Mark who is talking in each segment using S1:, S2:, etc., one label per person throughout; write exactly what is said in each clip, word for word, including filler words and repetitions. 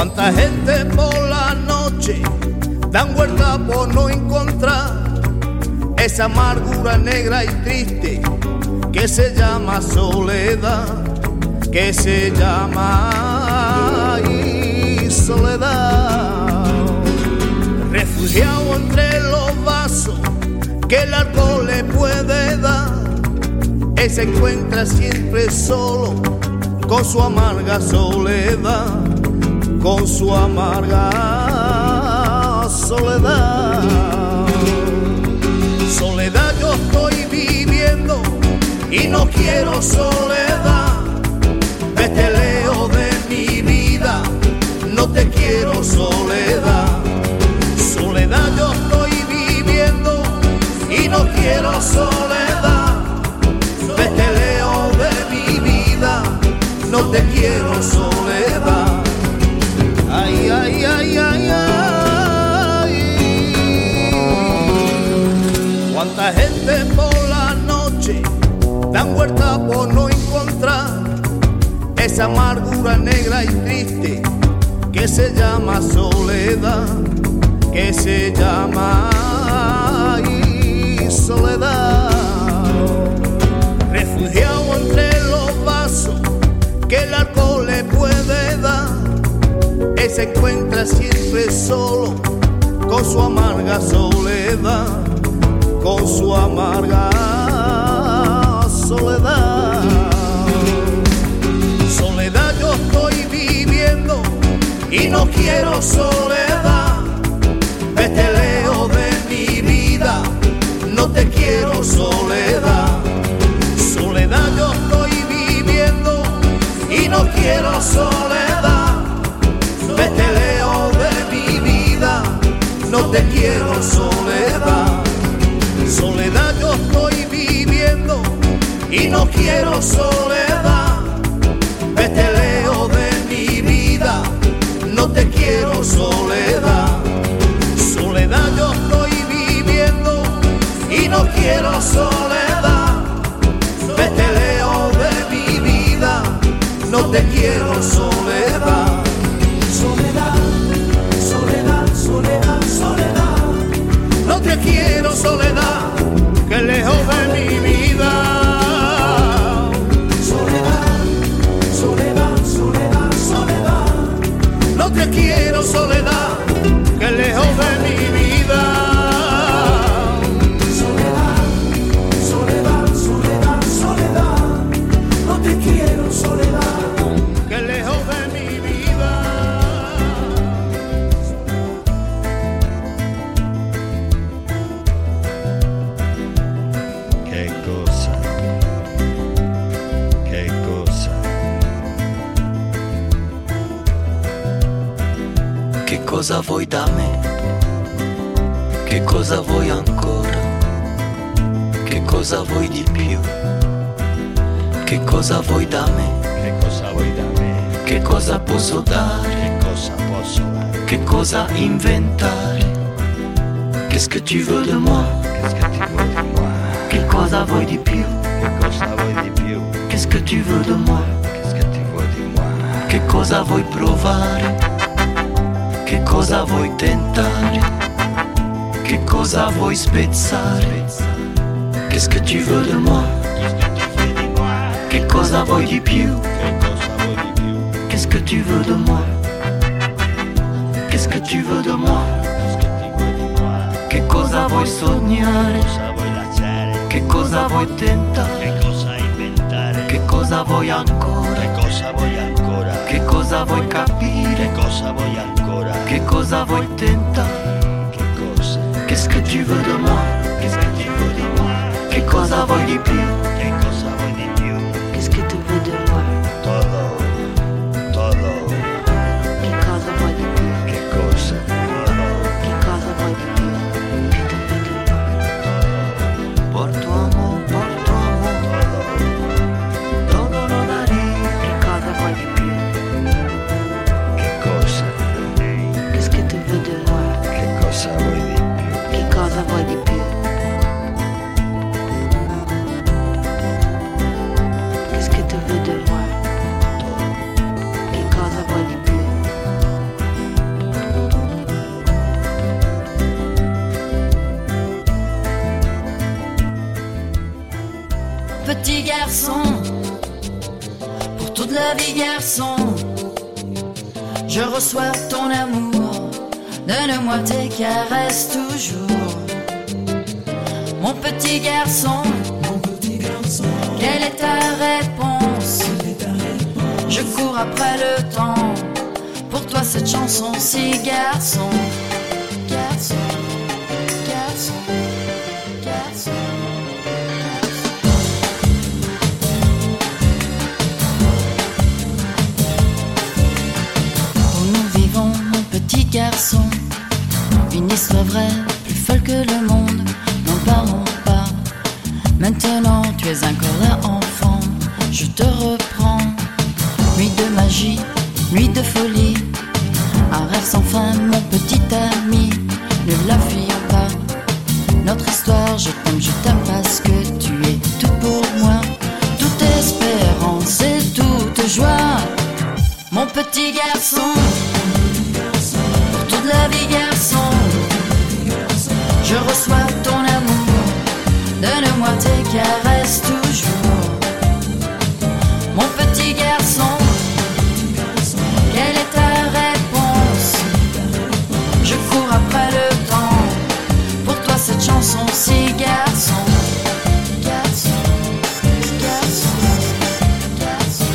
S1: Cuánta gente por la noche dan vuelta por no encontrar esa amargura negra y triste que se llama soledad, que se llama y soledad. Refugiado entre los vasos que el alcohol le puede dar, él se encuentra siempre solo con su amarga soledad, con su amarga soledad. Soledad yo estoy viviendo y no quiero soledad. Vete lejos de mi vida, no te quiero soledad. Soledad yo estoy viviendo y no quiero soledad. Vete lejos de mi vida, no te quiero soledad. Ay, ay, ay, ay, ay. Cuánta gente por la noche dan vuelta por no encontrar esa amargura negra y triste que se llama soledad, que se llama y soledad. Refugiado entre los vasos que el alcohol le puede dar, él se encuentra siempre solo con su amarga soledad, con su amarga soledad. Soledad yo estoy viviendo y no quiero soledad. Vete lejos de mi vida, no te quiero soledad. Soledad yo estoy viviendo y no quiero soledad. Vete lejos de mi vida, no te quiero soledad. Soledad yo estoy viviendo y no quiero soledad. Vete lejos de mi vida, no te quiero soledad. Soledad yo estoy viviendo y no quiero soledad. Vete lejos de mi vida, no te quiero soledad.
S2: Soledad, soledad, soledad, soledad.
S1: No te quiero soledad, que lejos de mi vida.
S2: Soledad, soledad, soledad, soledad.
S1: No te quiero soledad, que lejos de mi vida.
S2: Soledad, soledad, soledad, soledad. No te quiero soledad,
S1: que lejos de mi vida.
S3: Che cosa, che cosa.
S4: Che cosa vuoi da me? Che cosa vuoi ancora? Che cosa vuoi di più? Che cosa vuoi da me?
S3: Che cosa vuoi da me?
S4: Che cosa posso dare?
S3: Che cosa posso dare?
S4: Che cosa inventare? Qu'est-ce que tu veux de moi?
S3: Qu'est-ce che ti vuoi di moi?
S4: Che cosa vuoi di più?
S3: Che cosa vuoi di più?
S4: Qu'est-ce que tu veux de moi?
S3: Qu'est-ce che ti vuoi di moi?
S4: Che cosa vuoi provare? Che cosa vuoi tentare? Che cosa vuoi spezzare? Qu'est-ce que tu veux de moi?
S3: Qu'est-ce che ti vuoi di moi?
S4: Che cosa vuoi di più?
S3: Che cosa vuoi di più?
S4: Qu'est-ce que tu veux de moi? Qu'est-ce que tu veux de moi?
S3: Qu'est-ce che ti vuoi di moi?
S4: Che cosa vuoi sognare?
S3: Cosa vuoi lasciare?
S4: Che cosa vuoi tentare?
S3: Che cosa inventare?
S4: Che cosa vuoi ancora?
S3: Che cosa vuoi ancora?
S4: Che cosa vuoi capire?
S3: Che cosa vuoi ancora?
S4: Che cosa vuoi tentare?
S3: Che cosa?
S4: Qu'est-ce que tu veux de moi?
S3: Qu'est-ce che ti vuoi di moi?
S4: Che cosa vuoi di più?
S3: Che cosa vuoi di più?
S5: Qu'est-ce que tu veux de moi?
S3: Todo, todo.
S5: Che cosa vuoi di più?
S3: Che cosa? Todo.
S5: Che cosa vuoi di più? Che tu veux de moi?
S4: Porto amor, porto amor, todo lo daría.
S5: Che cosa vuoi di più?
S3: Che cosa?
S5: Qu'est-ce que tu veux de moi?
S3: Che cosa vuoi di più?
S5: Che cosa vuoi di più?
S6: la vie, garçon, je reçois ton amour. Donne-moi tes caresses toujours. Mon petit garçon,
S2: mon petit garçon,
S6: quelle est ta réponse?
S2: quelle est ta réponse?
S6: Je cours après le temps. Pour toi cette chanson, si garçon, garçon, garçon, garçon. Où nous vivons, mon petit garçon, une histoire vraie, plus folle que le monde. N'en parlons pas. Maintenant tu es encore là, enfant. Je te reprends. Nuit de magie, nuit de folie, un rêve sans fin, mon petit ami. Ne la fuyons pas. Notre histoire, je t'aime, je t'aime parce que tu es tout pour moi. Toute espérance et toute joie. Mon petit garçon, pour toute la vie, garçon, je reçois ton amour. Donne-moi tes caresses toujours. Mon petit garçon, quelle est ta réponse? Je cours après le temps. Pour toi cette chanson, si garçon, garçon, garçon, garçon.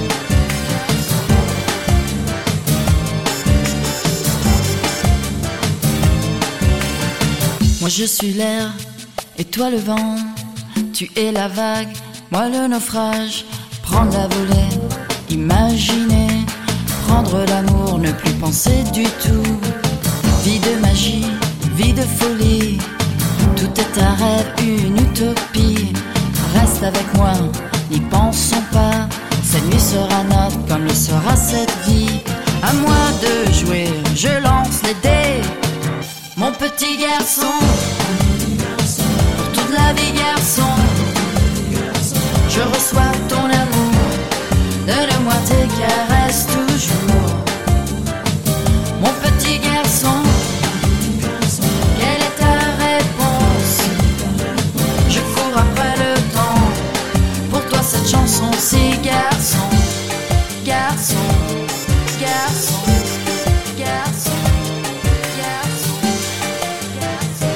S6: Moi je suis l'air et toi le vent. Tu es la vague, moi le naufrage. Prendre la volée, imaginer, prendre l'amour, ne plus penser du tout. Vie de magie, vie de folie, tout est un rêve, une utopie. Reste avec moi, n'y pensons pas. Cette nuit sera notre comme le sera cette vie. À moi de jouer, je lance les dés. Mon petit garçon, pour toute la vie, garçon, je reçois ton amour. Donne-moi tes caresses toujours. Mon petit garçon, quelle est ta réponse? Je cours après le temps. Pour toi cette chanson, si garçon, garçon, garçon, garçon, garçon, garçon.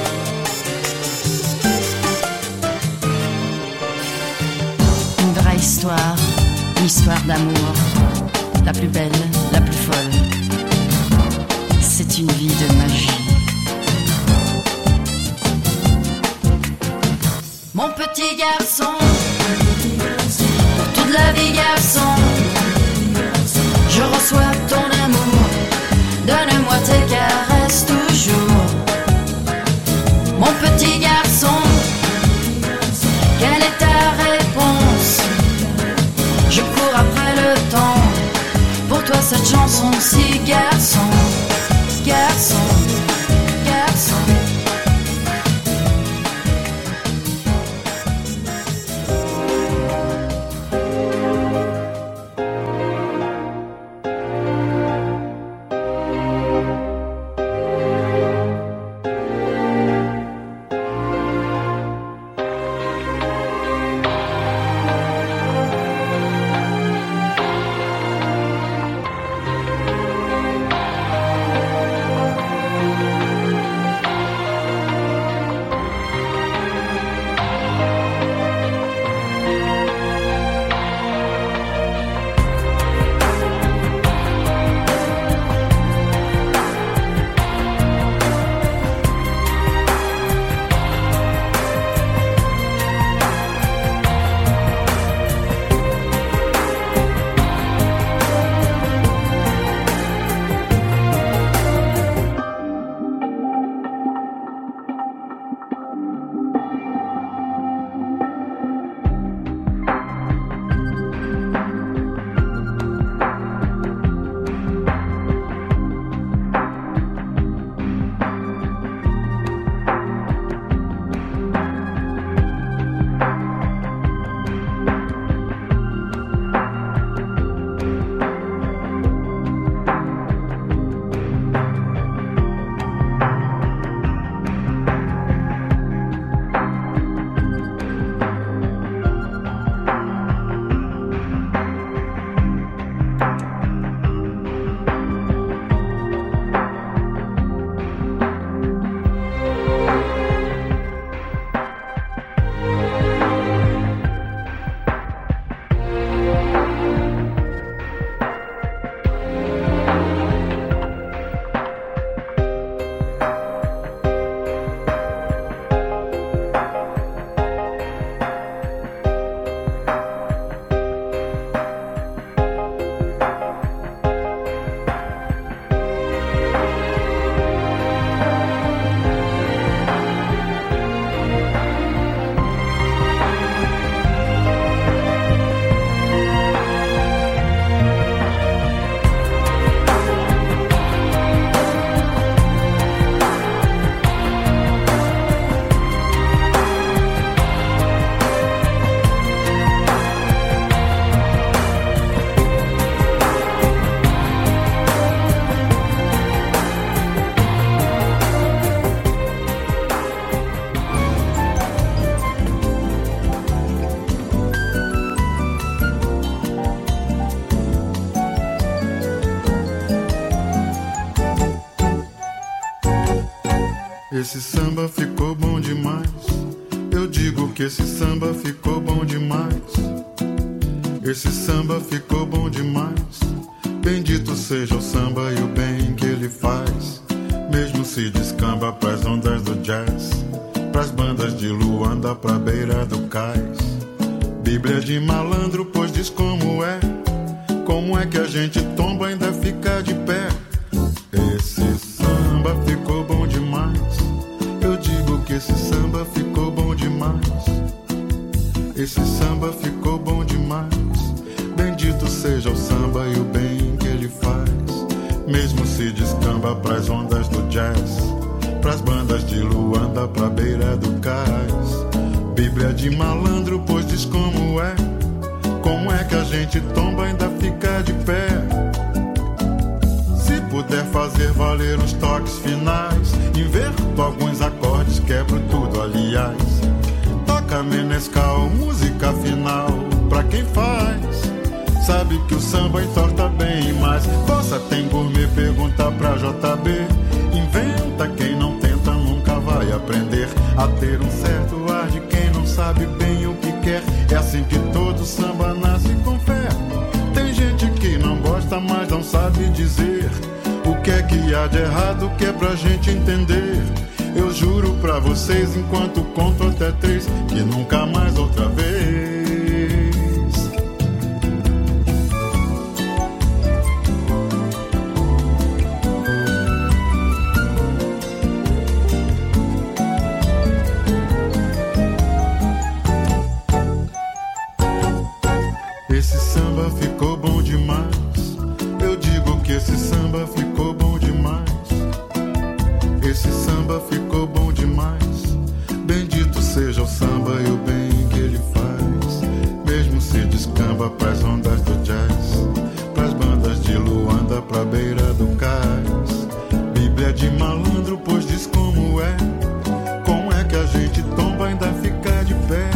S6: Une vraie histoire, une histoire d'amour, la plus belle, la plus folle. C'est une vie de magie. Mon petit garçon, pour toute la vie, garçon, je reçois ton amour. Donne-moi tes caresses toujours. Mon petit garçon, quelle est ta réponse? Je cours après le temps. Pour toi cette chanson, si garçon, garçon, garçon.
S7: Esse samba ficou bom demais. Eu digo que esse samba ficou bom demais. Esse samba ficou bom demais. Bendito seja o samba e o bem que ele faz. Mesmo se descamba pras ondas do jazz, pras bandas de Luanda, pra beira do cais. Bíblia de malandro, pois diz como é. Como é que a gente tomba e ainda fica de pé? Esse samba ficou bom demais. Eu digo que esse samba ficou bom demais. Esse samba ficou bom demais. Bendito seja o samba e o bem que ele faz. Mesmo se descamba pras ondas do jazz, pras bandas de Luanda, pra beira do cais. Bíblia de malandro, pois diz como é. Como é que a gente tomba e ainda fica de pé? Se puder fazer valer os toques finais, inverto alguns acordes, quebro tudo, aliás. Toca menescal, música final, pra quem faz. Sabe que o samba entorta bem, mas Bossa tem gourmet, pergunta pra J B. Inventa, quem não tenta nunca vai aprender a ter um certo ar de quem não sabe bem o que quer. É assim que todo samba nasce com fé. Tem gente que não gosta, mas não sabe dizer o que é que há de errado, que é pra gente entender. Eu juro pra vocês, enquanto conto até três, que nunca mais outra vez. Esse samba ficou bom demais. Eu digo que esse samba ficou bom demais. Esse samba ficou bom demais. Bendito seja o samba e o bem que ele faz. Mesmo se descamba pras ondas do jazz, pras bandas de Luanda, pra beira do cais. Bíblia de malandro, pois diz como é. Como é que a gente tomba e ainda fica de pé?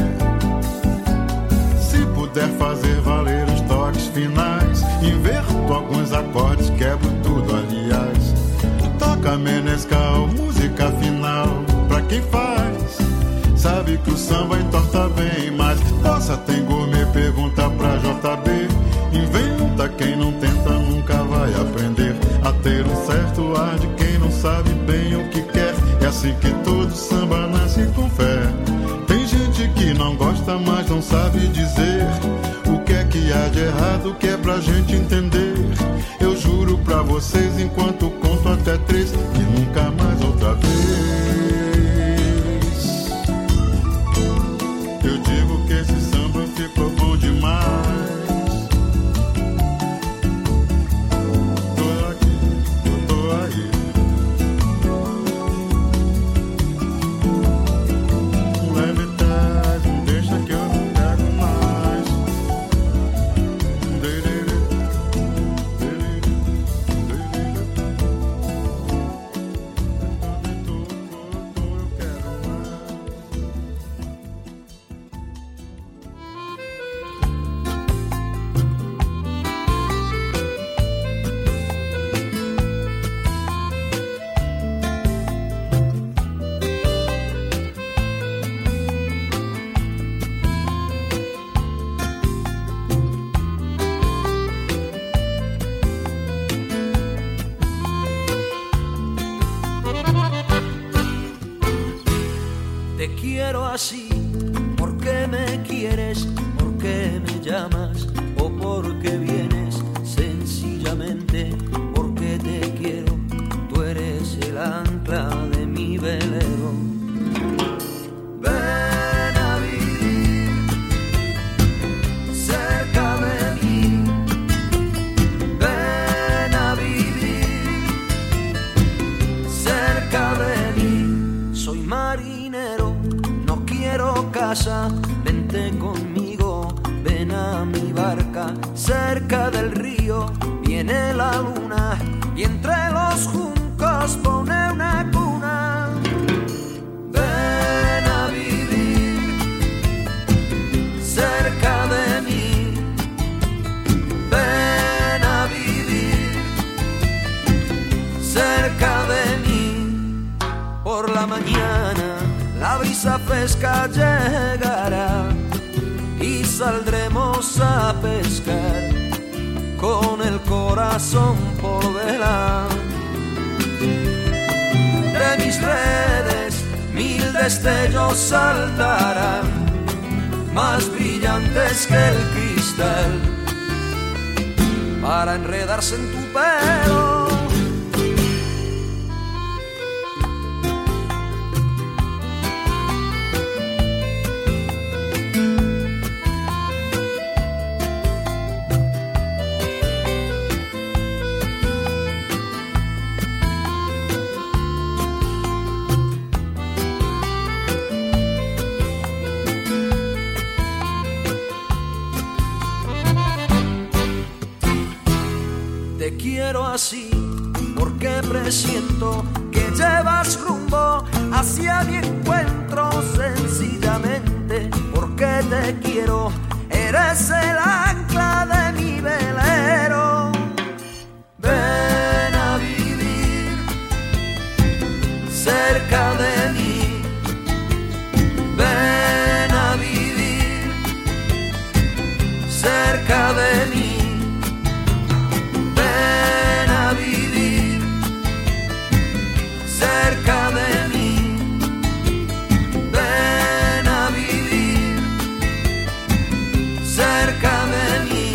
S7: Se puder fazer valer os toques finais, inverto alguns acordes, quebro tudo, aliás. Toca menescal, música final, pra quem faz. Sabe que o samba entorta bem, mas Bossa tem gourmet, pergunta pra J B. Inventa, quem não tenta nunca vai aprender a ter um certo ar de quem não sabe bem o que quer. É assim que todo samba nasce com fé. Tem gente que não gosta, mas não sabe dizer o que é que há de errado, que é pra gente entender. Eu juro pra vocês, enquanto conto até três, que nunca mais outra vez. Eu digo que esse samba ficou bom demais. Tô aqui, eu tô aí. Leve trás, não deixa que eu não pego mais. Delírio, delírio, delírio. Eu tô, tô, tô, eu quero mais.
S8: Te quiero así, porque me quieres, porque me llamas o porque vienes, sencillamente porque te quiero. Tú eres el ancla de mi velero. Ven a vivir cerca de mí. Ven a vivir cerca de mí. Soy marinero, no quiero casa. Vente conmigo, ven a mi barca. Cerca del río viene la luna y entre los juncos pone una cuna. Ven a vivir cerca de mí. Ven a vivir cerca de mí. Por la mañana fresca llegará y saldremos a pescar con el corazón por vela. De mis redes mil destellos saltarán, más brillantes que el cristal, para enredarse en tu pelo. Te quiero así porque presiento que llevas rumbo hacia mi encuentro, sencillamente porque te quiero, eres el ancla de mi velero. Ven a vivir cerca de mí, ven a vivir cerca de mí. Cerca de mí, ven a vivir cerca de mí.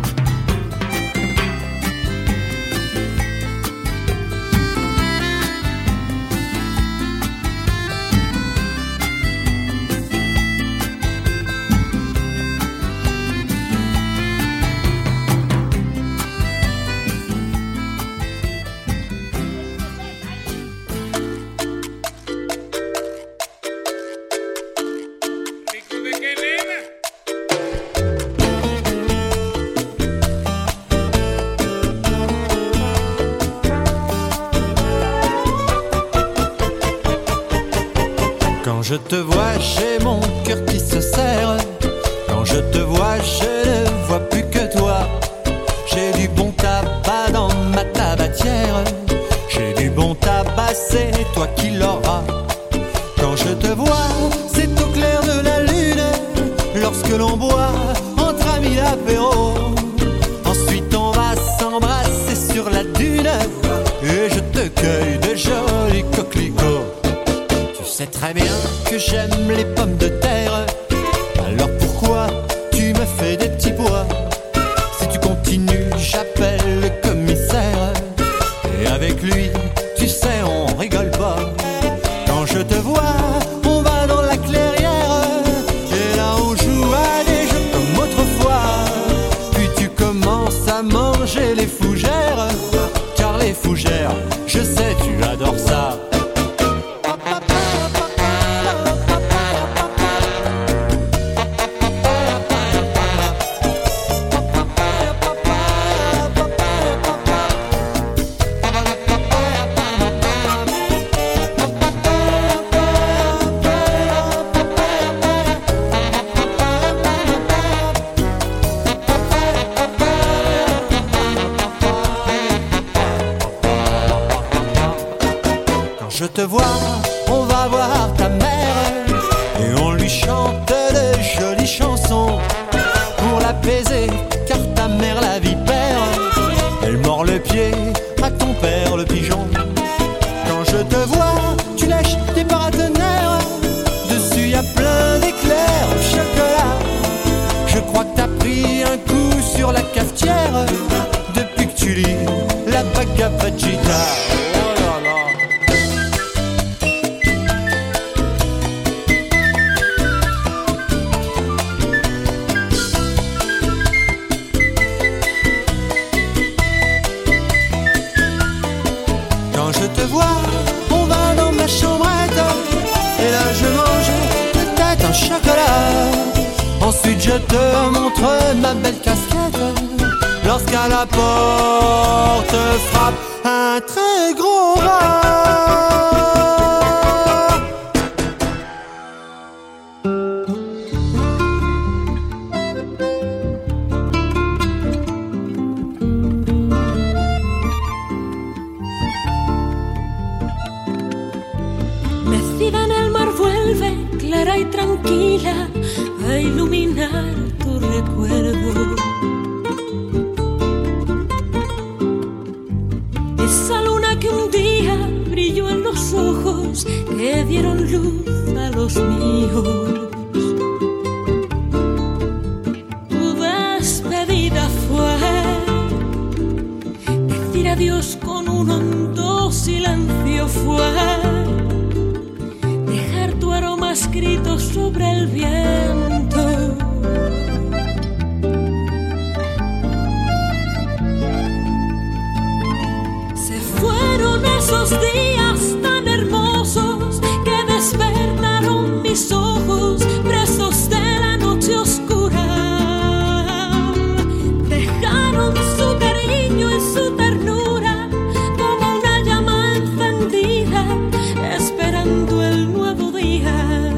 S9: Quand je te vois, j'ai mon cœur qui se serre. Quand je te vois, je ne vois plus que toi. J'ai du bon tabac dans ma tabatière. J'ai du bon tabac, c'est toi qui l'auras. Quand je te vois, c'est au clair de la lune. Lorsque l'on boit entre amis l'apéro. Ensuite on va s'embrasser sur la dune. Et je te cueille de jolis coquelicots. Tu sais très bien que j'aime les pommes de terre. Alors pourquoi tu me fais des petits pois? Si tu continues, j'appelle le commissaire. Et avec lui, tu sais, on rigole pas. Quand je te vois, on va dans la clairière. Et là on joue à des jeux comme autrefois. Puis tu commences à manger les fougères. Car les fougères, je sais, tu adores ça. Je te vois, on va voir ta mère et on lui chante de jolies chansons pour l'apaiser, car ta mère la vipère, elle mord le pied à ton père le pigeon. Quand je te vois, tu lèches tes paratonnerres, dessus y a plein d'éclairs au chocolat. Je crois que t'as pris un coup sur la cafetière depuis que tu lis la Bhagavad Gita. Quand je te vois, on va dans ma chambrette. Et là je mange peut-être un chocolat. Ensuite je te montre ma belle casquette. Lorsqu'à la porte frappe un très gros rat.
S10: Mecida en el mar vuelve, clara y tranquila a iluminar tu recuerdo. Esa luna que un día brilló en los ojos que dieron luz a los míos. Tu despedida fue decir adiós con un hondo silencio, fue dejar tu aroma escrito sobre el viento. Se fueron esos días tan hermosos que despertaron mis ojos presos de la noche oscura. Dejaron su cariño y su ternura como una llama encendida esperando el nuevo día.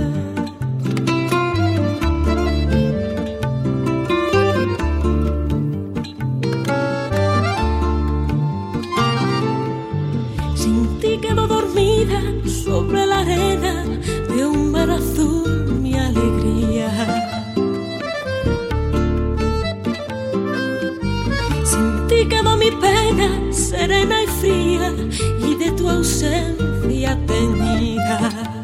S10: Sin ti quedo dormida sobre la arena de un mar azul, mi alegría. Sin ti quedó mi pena serena y fría y de tu ausencia teñida.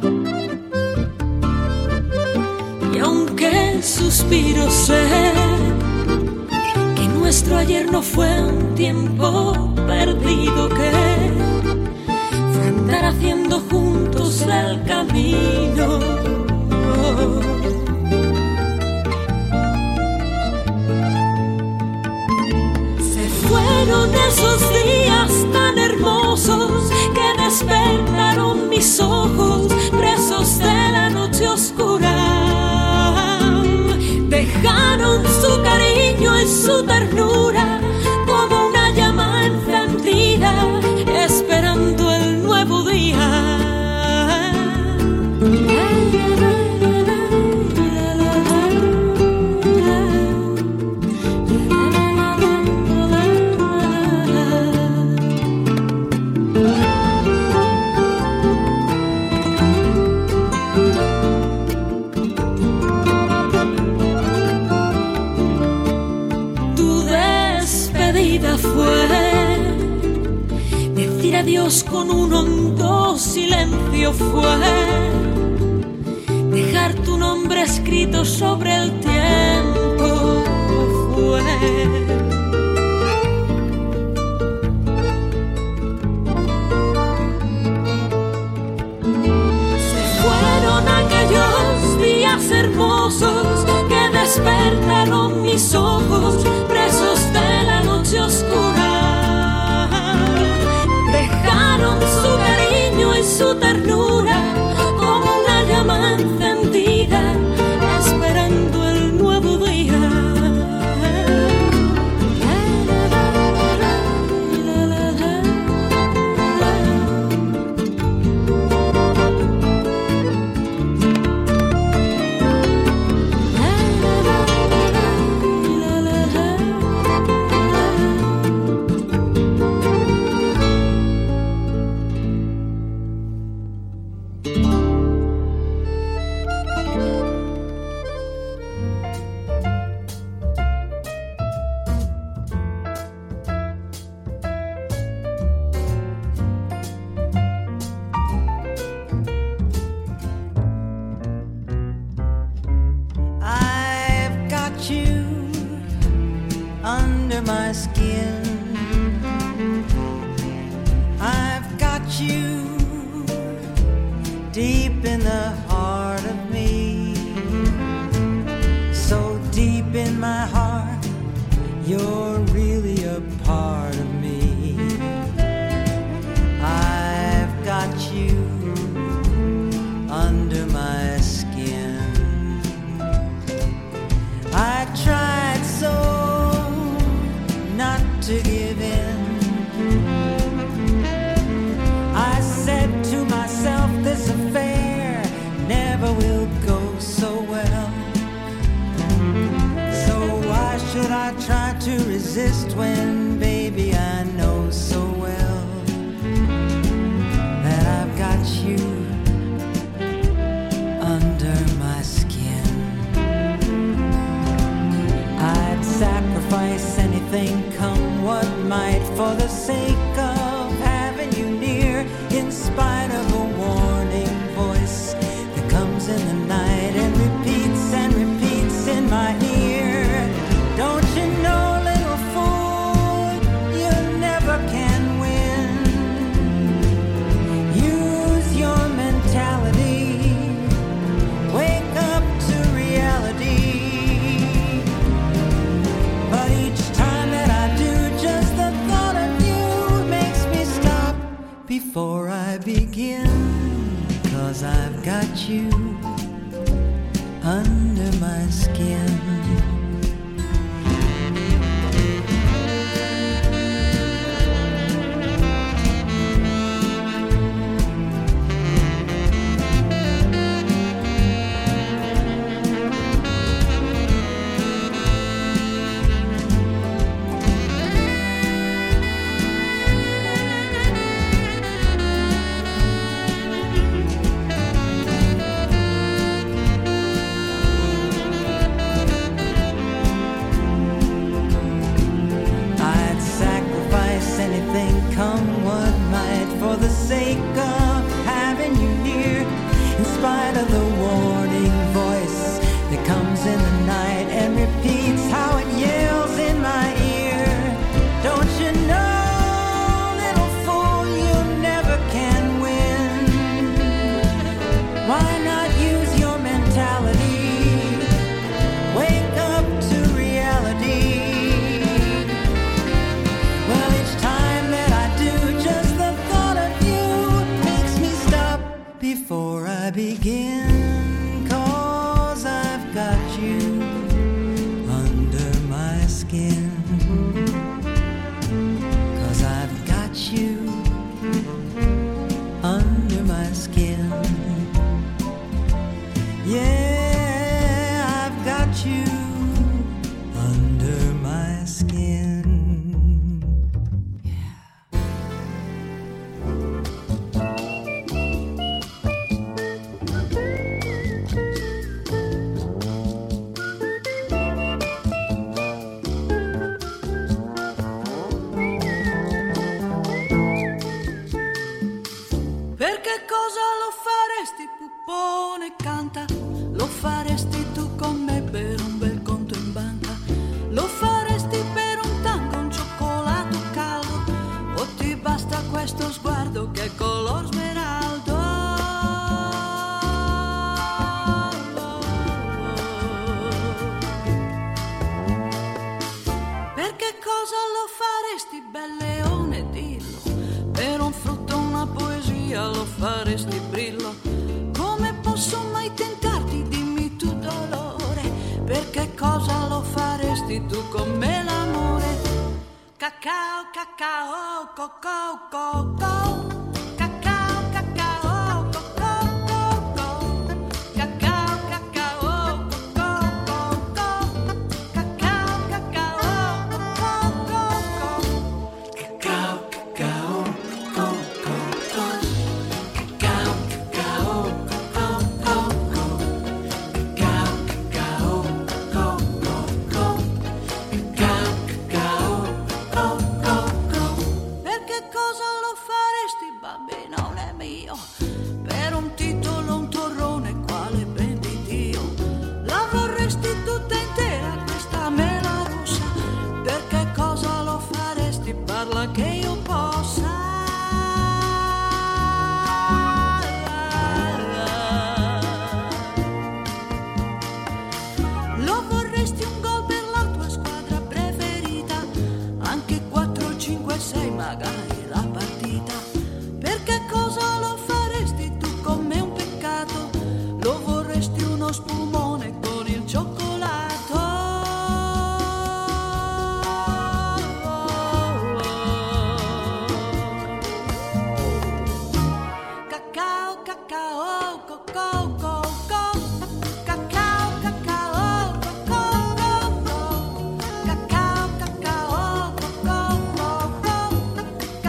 S10: Y aunque suspiro sé que nuestro ayer no fue un tiempo perdido, que fue andar haciendo juntos el camino. Se fueron esos días tan hermosos que despertaron mis ojos presos de la noche oscura. Dejaron su cariño y su ternura como una llama encendida esperando el nuevo día. Tu despedida fue decir adiós con un hondo silencio, fue dejar tu nombre escrito sobre el tiempo, fue se fueron aquellos días hermosos que despertaron mis ojos presos de la noche oscura. Dejaron su cariño y su ternura como una llama encendida esperando el nuevo día.
S11: Under my skin, I've got you deep in the heart of me, so deep in my heart, you're really a part of me. I've got you under my skin. I tried so not to give in. I said to myself, this affair never will go so well. So why should I try to resist when, baby, I know so well that I've got you under my for the sake of having you near, in spite of a warning voice that comes in the night and repeats and repeats in my ear. Don't you know, little fool, you never can win. Use your mentality, wake up to reality. But each time that I do, just the thought of you makes me stop before I begin. 'Cause I've got you under my skin. Anything, come what might, for the sake of having you near, in spite of the warning voice that comes in the night and repeats how it yells in my ear. Don't you know, little fool, you never can win. Why not use your mentality? Wake up to reality. Well, each time that I do, just the thought of you makes me stop before I begin. 'Cause I've got you under my skin. 'Cause I've got you under my skin. Yeah, I've got you under my skin.
S12: Perché cosa lo faresti, puppone, canta? Lo faresti tu con me per un bel conto in banca? Lo faresti per un tango, un cioccolato caldo? O ti basta questo sguardo che è color smeraldo? Perché cosa lo faresti, bel leone, dillo? Per un frutto, una poesia, lo faresti, brillo? Come posso mai tentarti, dimmi tu, dolore? Perché cosa lo faresti tu con me, l'amore? Cacao, cacao, cocco, cocco. Cacao, cacao, cocco, cocco. Cacao, cacao, cocco, cocco. Cacao, cacao, cocco, cocco. Cacao, cacao, cocco, cocco. Cacao, cacao, cocco, cocco. Cacao, cacao, cocco, cocco. Cacao, cacao, cocco, cocco. Perché cosa lo faresti, bambino, non è mio? Per un titolo, un torrone, quale ben di Dio? La vorresti tutta intera, questa mela rossa? Perché cosa lo faresti, parla che io possa? Lo vorresti un gol per la tua squadra preferita? Anche quattro, cinque, sei magari la partita? Perché cosa lo faresti tu con me, un peccato? Lo vorresti uno spumone con il cioccolato? Cacao, cacao, cocco, cocco. Cacao, cacao, cocco, cocco. Cacao, cacao, cocco, cocco.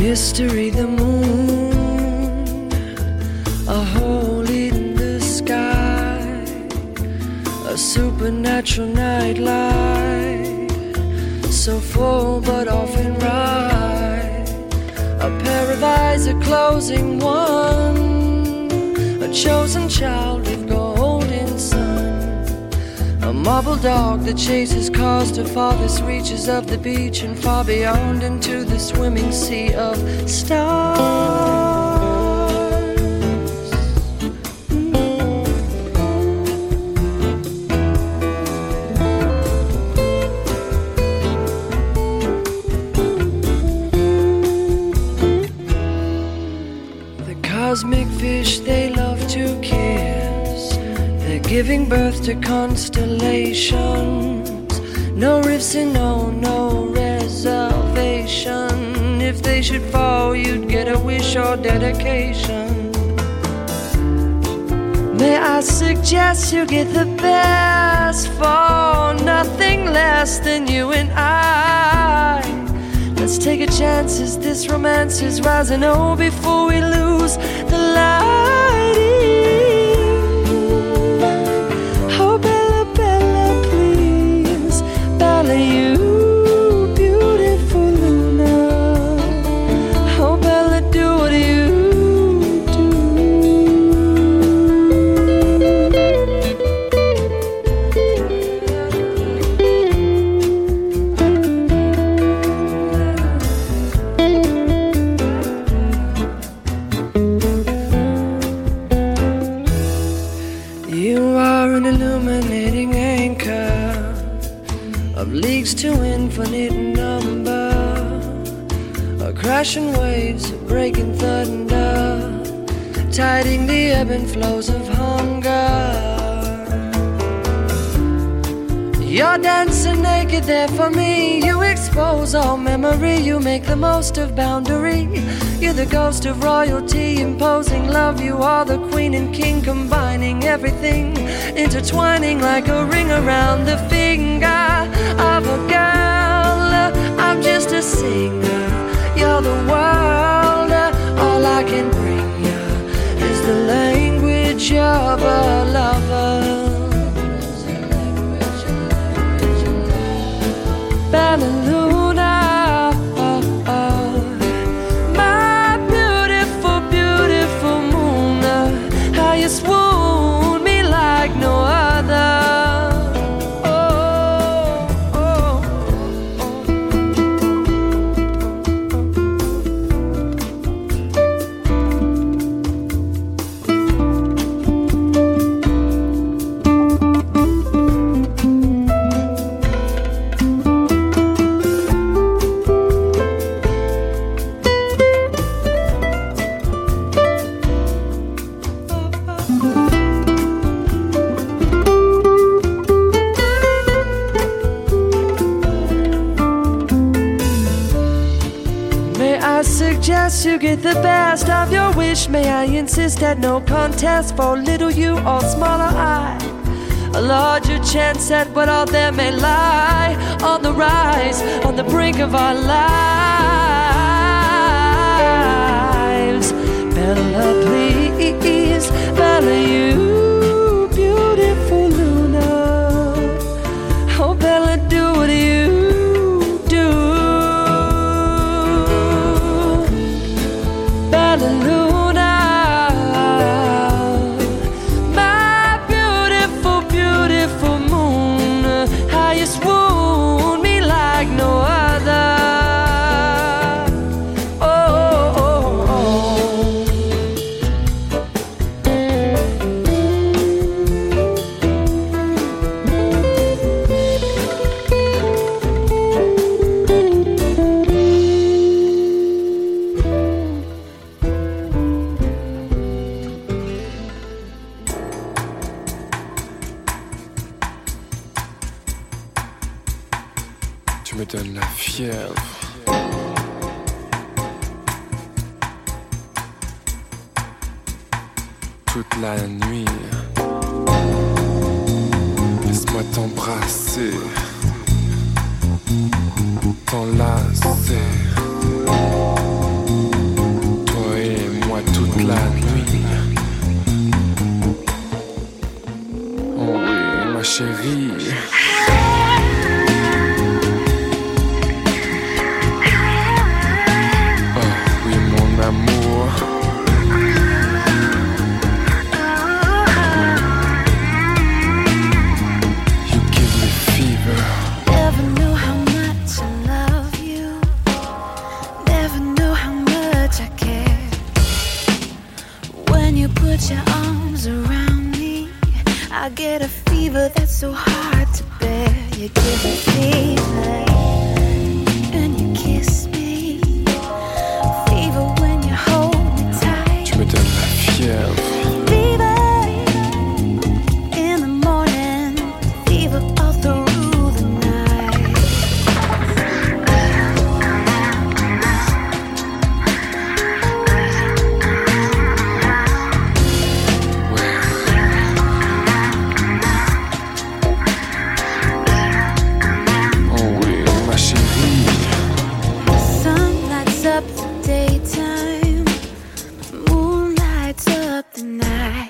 S13: mystery, the moon, a hole in the sky, a supernatural nightlight, so full but often right, a pair of eyes, a closing one, a chosen child with golden sun, a marble dog that chases cars to farthest reaches of the beach and far beyond into the swimming sea of stars. The cosmic fish they love to kiss, they're giving birth to constellations. No rifts and no, no reservation. If they should fall, you'd get a wish or dedication. May I suggest you get the best for nothing less than you and I. Let's take a chance as this romance is rising. Oh, before we lose the lighting. Oh, Bella, Bella, please, Bella, you beautiful Luna. Oh, Bella, do what you to infinite number, a crashing waves, a breaking thunder, tiding the ebb and flows of hunger. You're dancing naked there for me. You expose all memory. You make the most of boundary. You're the ghost of royalty, imposing love. You are the queen and king, combining everything, intertwining like a ring around the finger of a girl. I'm just a singer. You're the world. All I can bring you is the language of a lover. Bella Luna, oh, oh. My beautiful, beautiful moon, how you swoon me like no other. To get the best of your wish, may I insist at no contest for little you or smaller I. A larger chance at what all there may lie, on the rise, on the brink of our lives. Bella, please, Bella, you beautiful Luna. Oh, Bella, do what you Luna, my beautiful, beautiful moon, how you swoon me like no other. Oh, oh, oh,
S14: Tu me donnes la fièvre. Toute la nuit, laisse-moi t'embrasser, t'enlacer. toute la nuit. Oh oui, ma chérie. Oh oui, mon amour. You give me fever.
S10: Never knew how much I love you. Never knew how much I care. When you put your arms around me, I get a fever that's so hard to bear. You give me fever, and you kiss me. Fever when you hold me tight.
S14: Tu me donnes la fièvre.
S10: Fever in the morning. Fever all through the night.
S14: Oh oui, ma chérie.
S10: Sun lights up the daytime, moon lights up the night.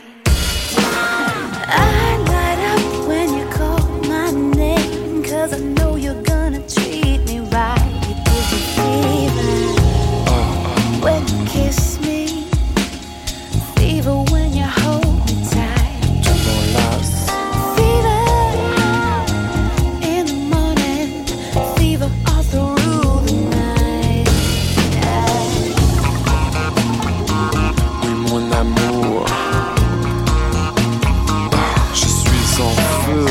S10: I light up when you call my name, 'cause I know you're gonna treat me right. You give me fever when you kiss me, fever when you hold me tight.
S14: Tu m'enlaces.
S10: Fever in the morning, fever all through the night.
S14: Oui, mon amour. Ah, je suis en feu.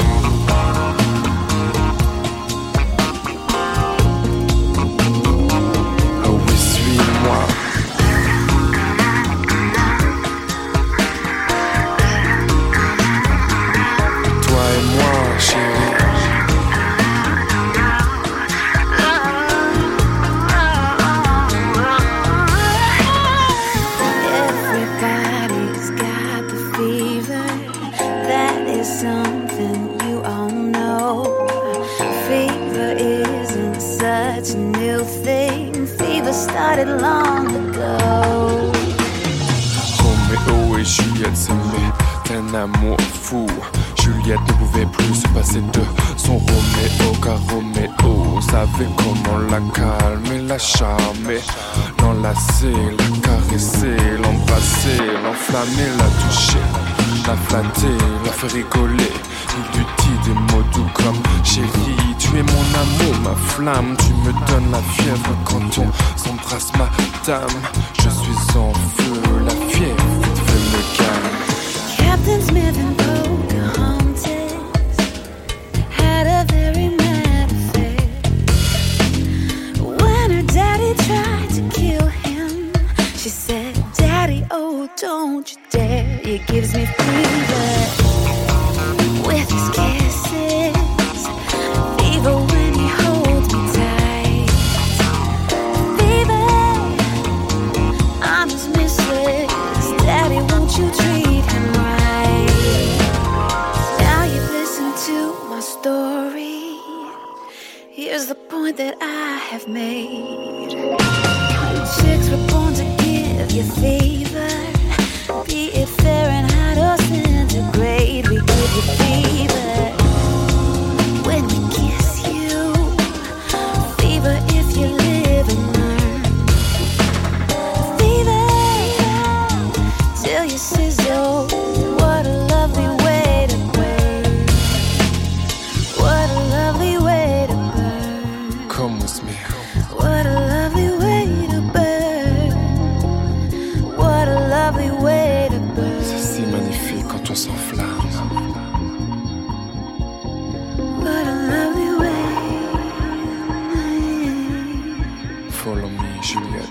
S14: Oh oui, suis-moi. Toi et moi, chérie.
S10: Everybody's got the fever. That is something you all know. Fever isn't such a new thing. Fever started long ago.
S14: Roméo et Juliette s'aimaient d'un amour fou. Juliette ne pouvait plus se passer de son Roméo, car Roméo savait comment la calmer, la charmer, l'enlacer, la caresser, l'embrasser, l'enflammer, la toucher, la flatter, la faire rigoler. Il lui dit des mots doux comme chérie, tu es mon amour, ma flamme, tu me donnes la fièvre quand on s'embrasse, madame. Je suis en feu, la fièvre vite fait me calme.
S10: Captain Smith and Pocahontas had a very mad affair. When her daddy tried to kill him, she said, Daddy, oh, don't you dare. He gives me fever with his kisses. Fever when he holds me tight. Fever, I'm his mistress. Daddy, won't you treat him right? Now you've listened to my story. Here's the point that I have made. Chicks were born to give you fever. Be it Fahrenheit or centigrade, we give you fever when we kiss you. Fever if you live and learn. Fever till you sizzle. What a lovely way to burn. What a lovely way to burn.
S14: Come with me.
S10: What a lovely way to burn. What a lovely way to burn.
S14: C'est si magnifique quand on s'enflamme.
S10: What a lovely way.
S14: Follow me, Juliette.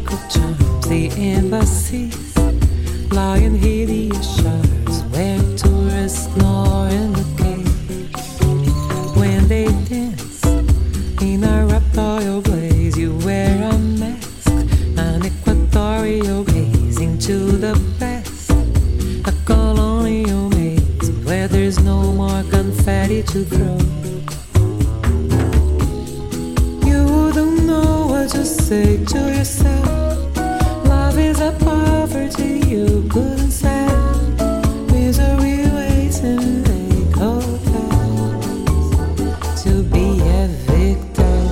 S11: secret charms, the embassies lie in hideous shards where tourists snore in the cage. When they dance in a raptorial blaze, you wear a mask, an equatorial gaze into the past, a colonial maze where there's no more confetti to throw. You wouldn't know what to say to yourself. Love is a poverty you couldn't sell. Misery waits in big hotels to be evicted.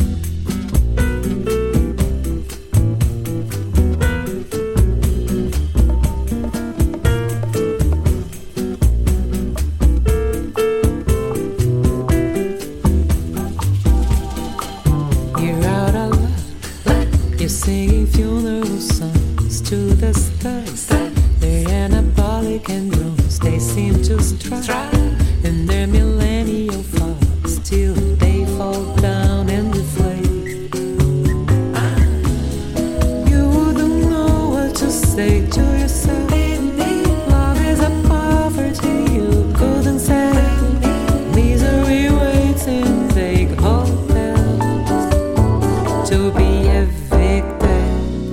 S11: You're out of luck. You're singing funeral songs to the stars. Their anabolic and drums, they seem to strike in their millennial fogs till they fall down and deflate. You wouldn't know what to say to yourself. Love is a poverty you couldn't sell. Misery waits in vague hotels to be evicted.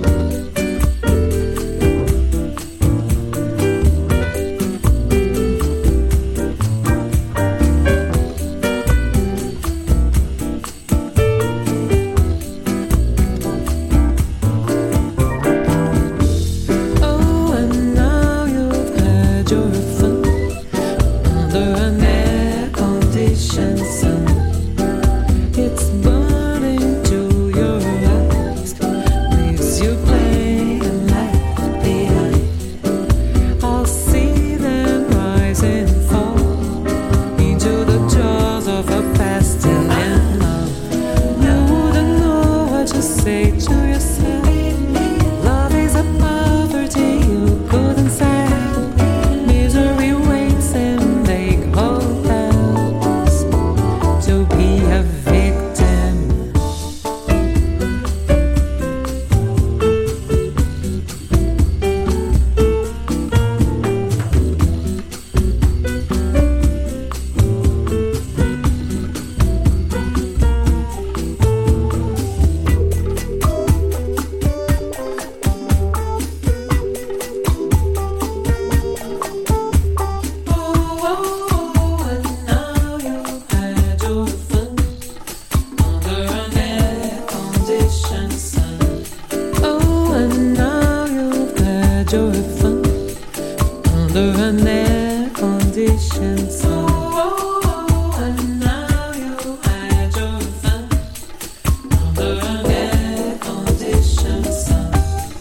S11: Oh, and now you've had your fun under an air-conditioned sun. It's burning to your eyes, leaves you plain and left behind. I'll see them rise and fall into the jaws of a pestilent love. You wouldn't know what to say to yourself. Love is a poverty you couldn't sell. Misery waits in vague hotels to be a victim. Oh, oh, oh, and now you've had your fun under an air-conditioned sun. Oh, and now you've had your fun under an air-conditioned sun. Oh, oh, and now you've had your fun under an air-conditioned sun.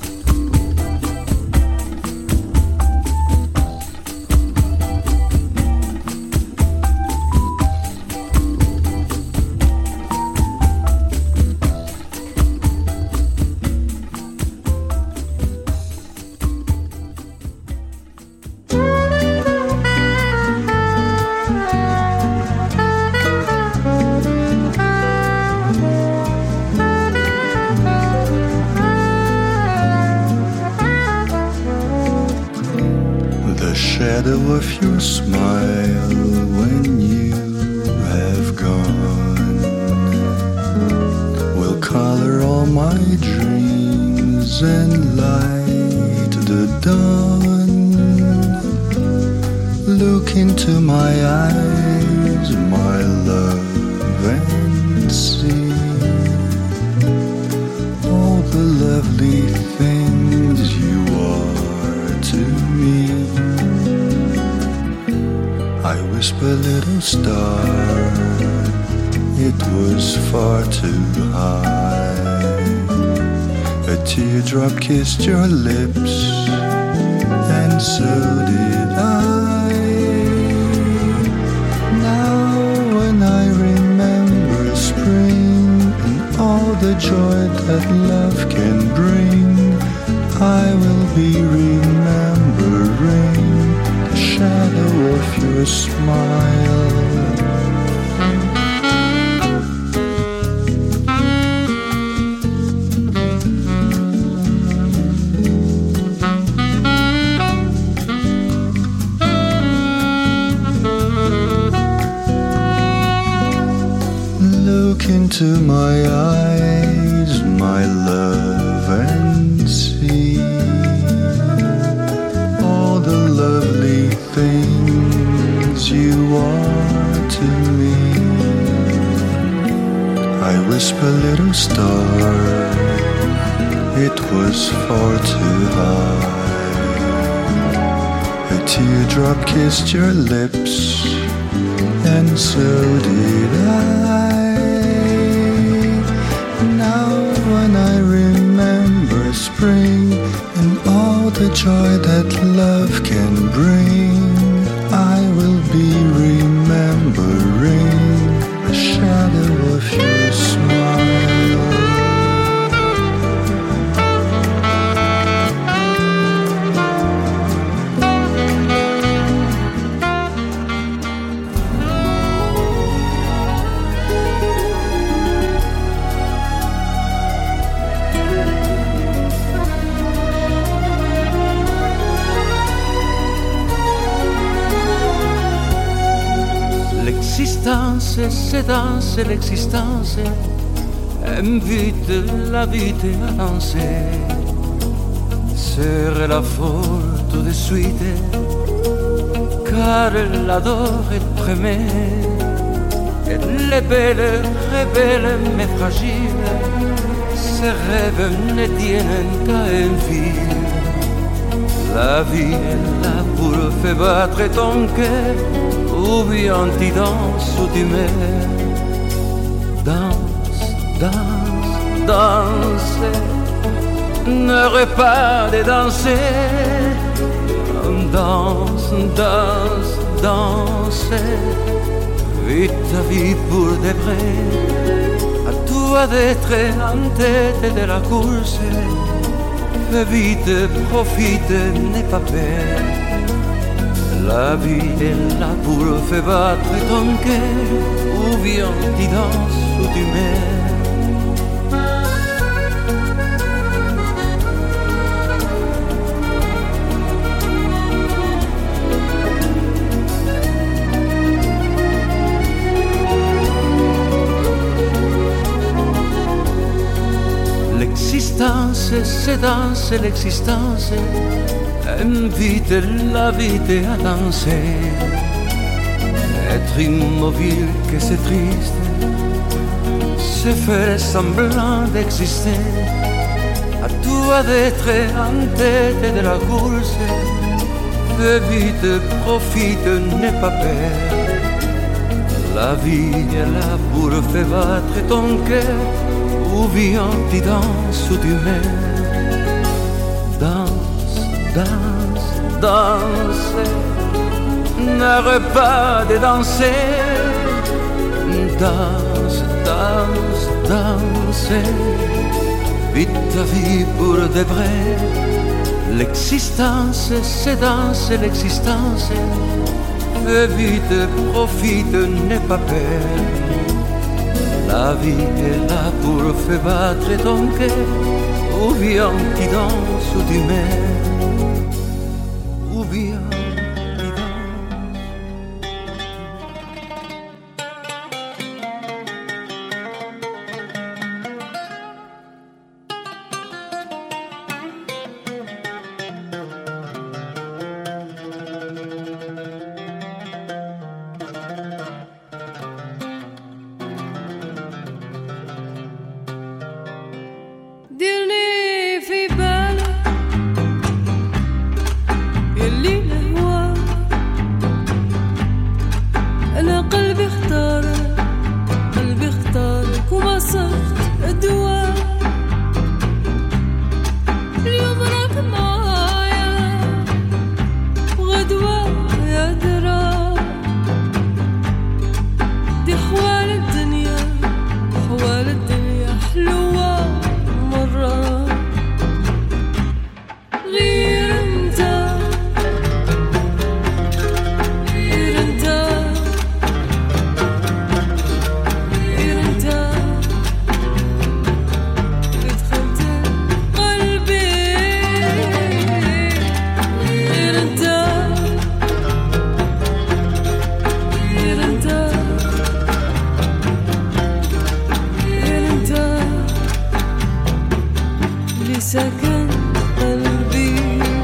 S15: The shadow of your smile when you have gone will color all my dreams and light the dawn. Look into my eyes, my love, and see all the lovely things you are to me. I whisper, little star, it was far too high. A teardrop kissed your lips, and so did I. Now when I remember spring and all the joy that love can bring, I will be remembering the shadow of your smile. my eyes, my love, and see all the lovely things you are to me. I whisper, little star, it was far too high. A teardrop kissed your lips, and so did I. Now when I remember spring and all the joy that love can bring, I will be remembering the shadow of your smile.
S16: L'existence, c'est danser, l'existence invite la vie à danser. Sur la faute de suite, car elle adore et prémet. Elle est belle, rebelle, mais fragile. Ses rêves ne tiennent qu'à un fil. La vie est là pour faire battre ton cœur, ou bien tu danses ou tu meurs. Danse, danse, danse, n'arrête pas de danser. Danse, danse, danse, vite ta vie pour de vrai. À toi d'être en tête de la course. Fais vite, profite, n'aie pas peur. La vie est là pour faire battre ton cœur, ou bien tu danses ou tu meurs. L'existence, c'est danser, l'existence invite la vie à danser. Être immobile, que c'est triste, se faire semblant d'exister. À toi d'être en tête de la course. Fais vite, profite, n'aie pas peur. La vie est là pour faire battre ton cœur, ou bien tu danses ou tu meurs. Danse, danse, danse, n'arrête pas de danser. Danse, danse, danse, vite ta vie pour de vrai. L'existence, c'est danser, l'existence. Fais vite, profite, n'aie pas peur. La vie est là pour faire battre ton cœur, ou bien tu danses ou tu meurs, ou bien tu danses.
S12: Dirne fi belle, e lì le vuoi.
S13: لسكن قلبي.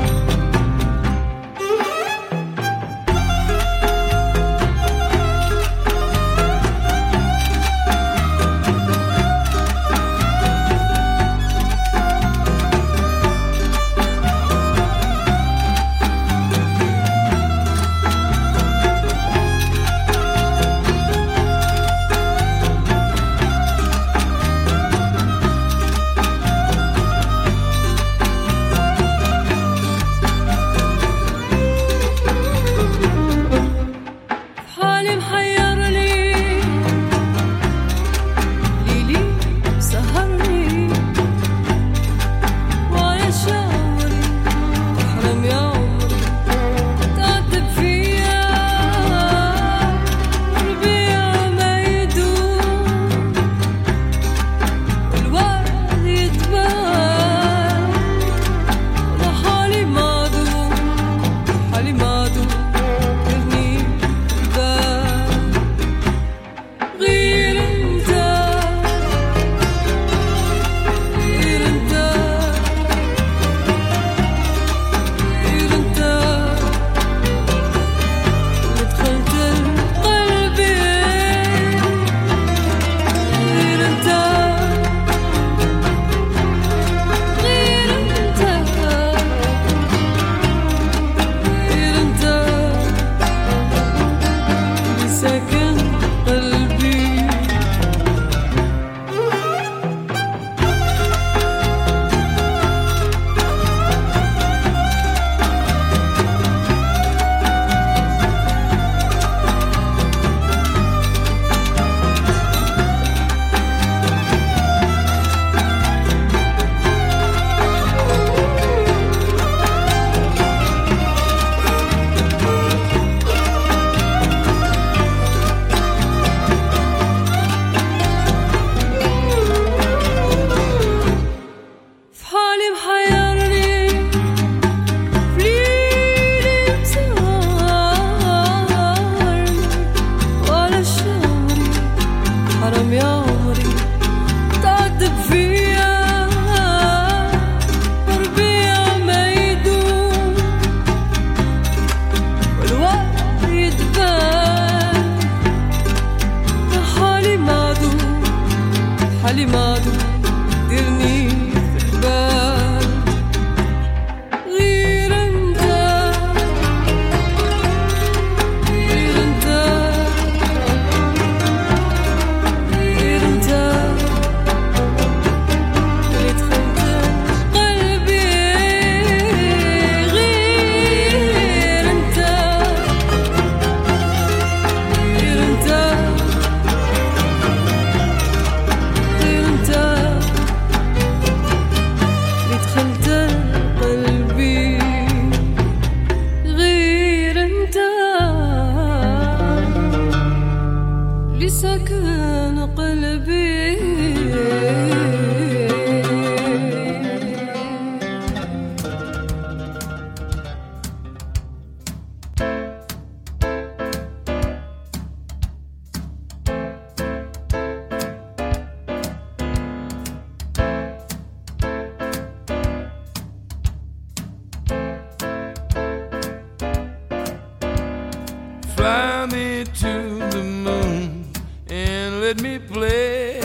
S17: Fly me to the moon and let me play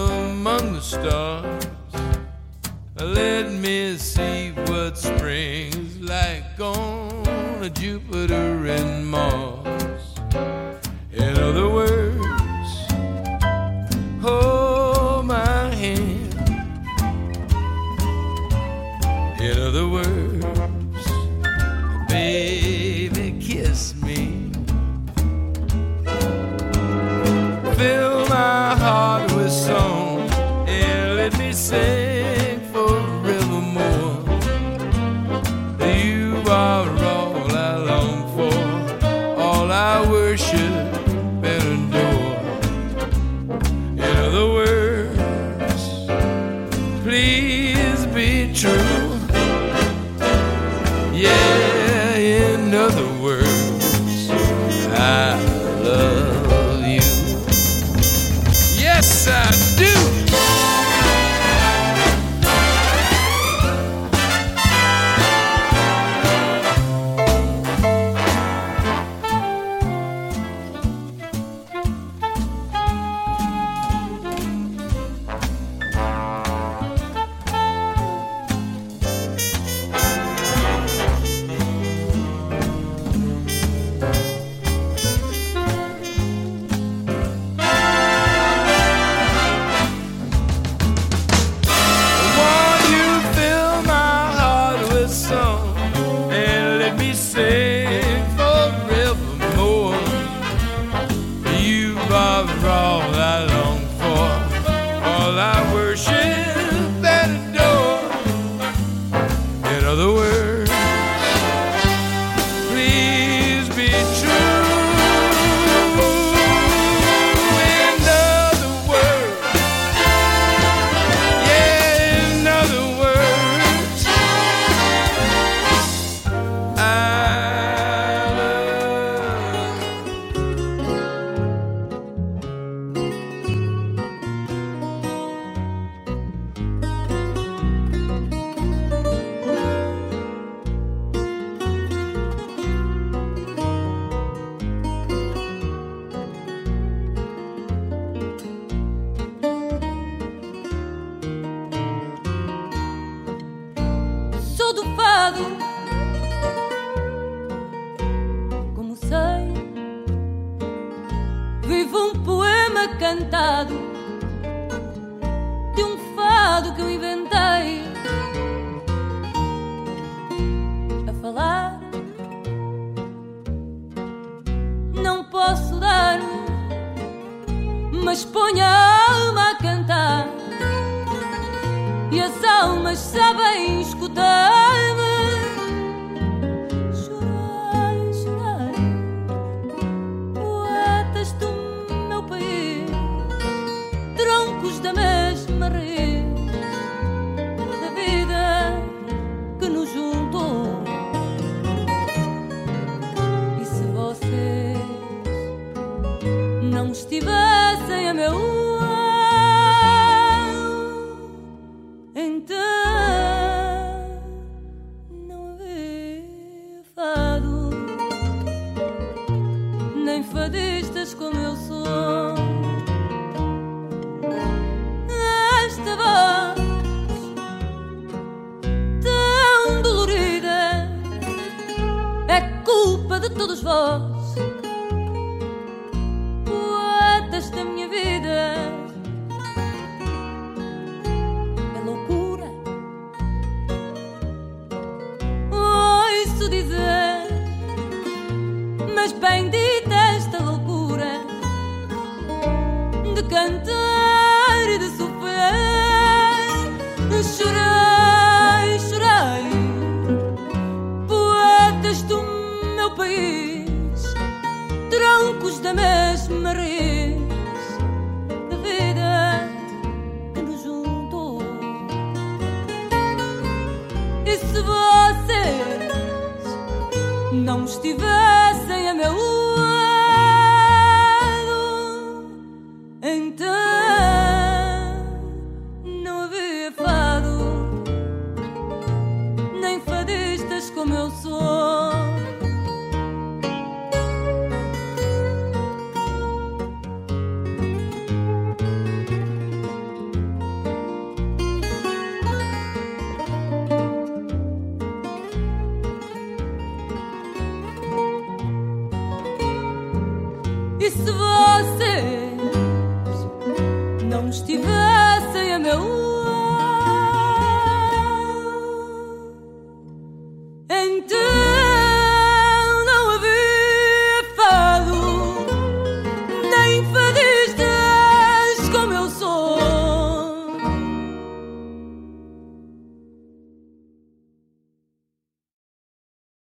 S17: among the stars. Let me see what spring's like on Jupiter and Mars. In other words, hold my hand. In other words, baby, kiss me. Fill my heart with song and let me sing forevermore. You are all I long for, all I worship and adore. In other words, please be true. Yeah, in other words, I love you. Yes, I do.
S12: cantado de um fado que eu inventei. A falar não posso dar, mas ponho a alma a cantar e as almas sabem escutar-me. Chorai, chorai, poetas do meu país, troncos da mesma raiz da vida que nos juntou. E se vocês não estivessem a meu lado, então não havia fado, nem fadistas como eu sou. Esta voz tão dolorida é culpa de todos vós, poetas da minha vida. É loucura ouço dizer, mas bendita esta loucura de cantar e de sofrer. Chorai, chorai, poetas do meu país, troncos da mesma raiz da vida que nos juntou. E se vocês não estivessem a meu lado, então não havia fado, nem fadistas como eu sou. E se vocês não estivessem a meu lado, então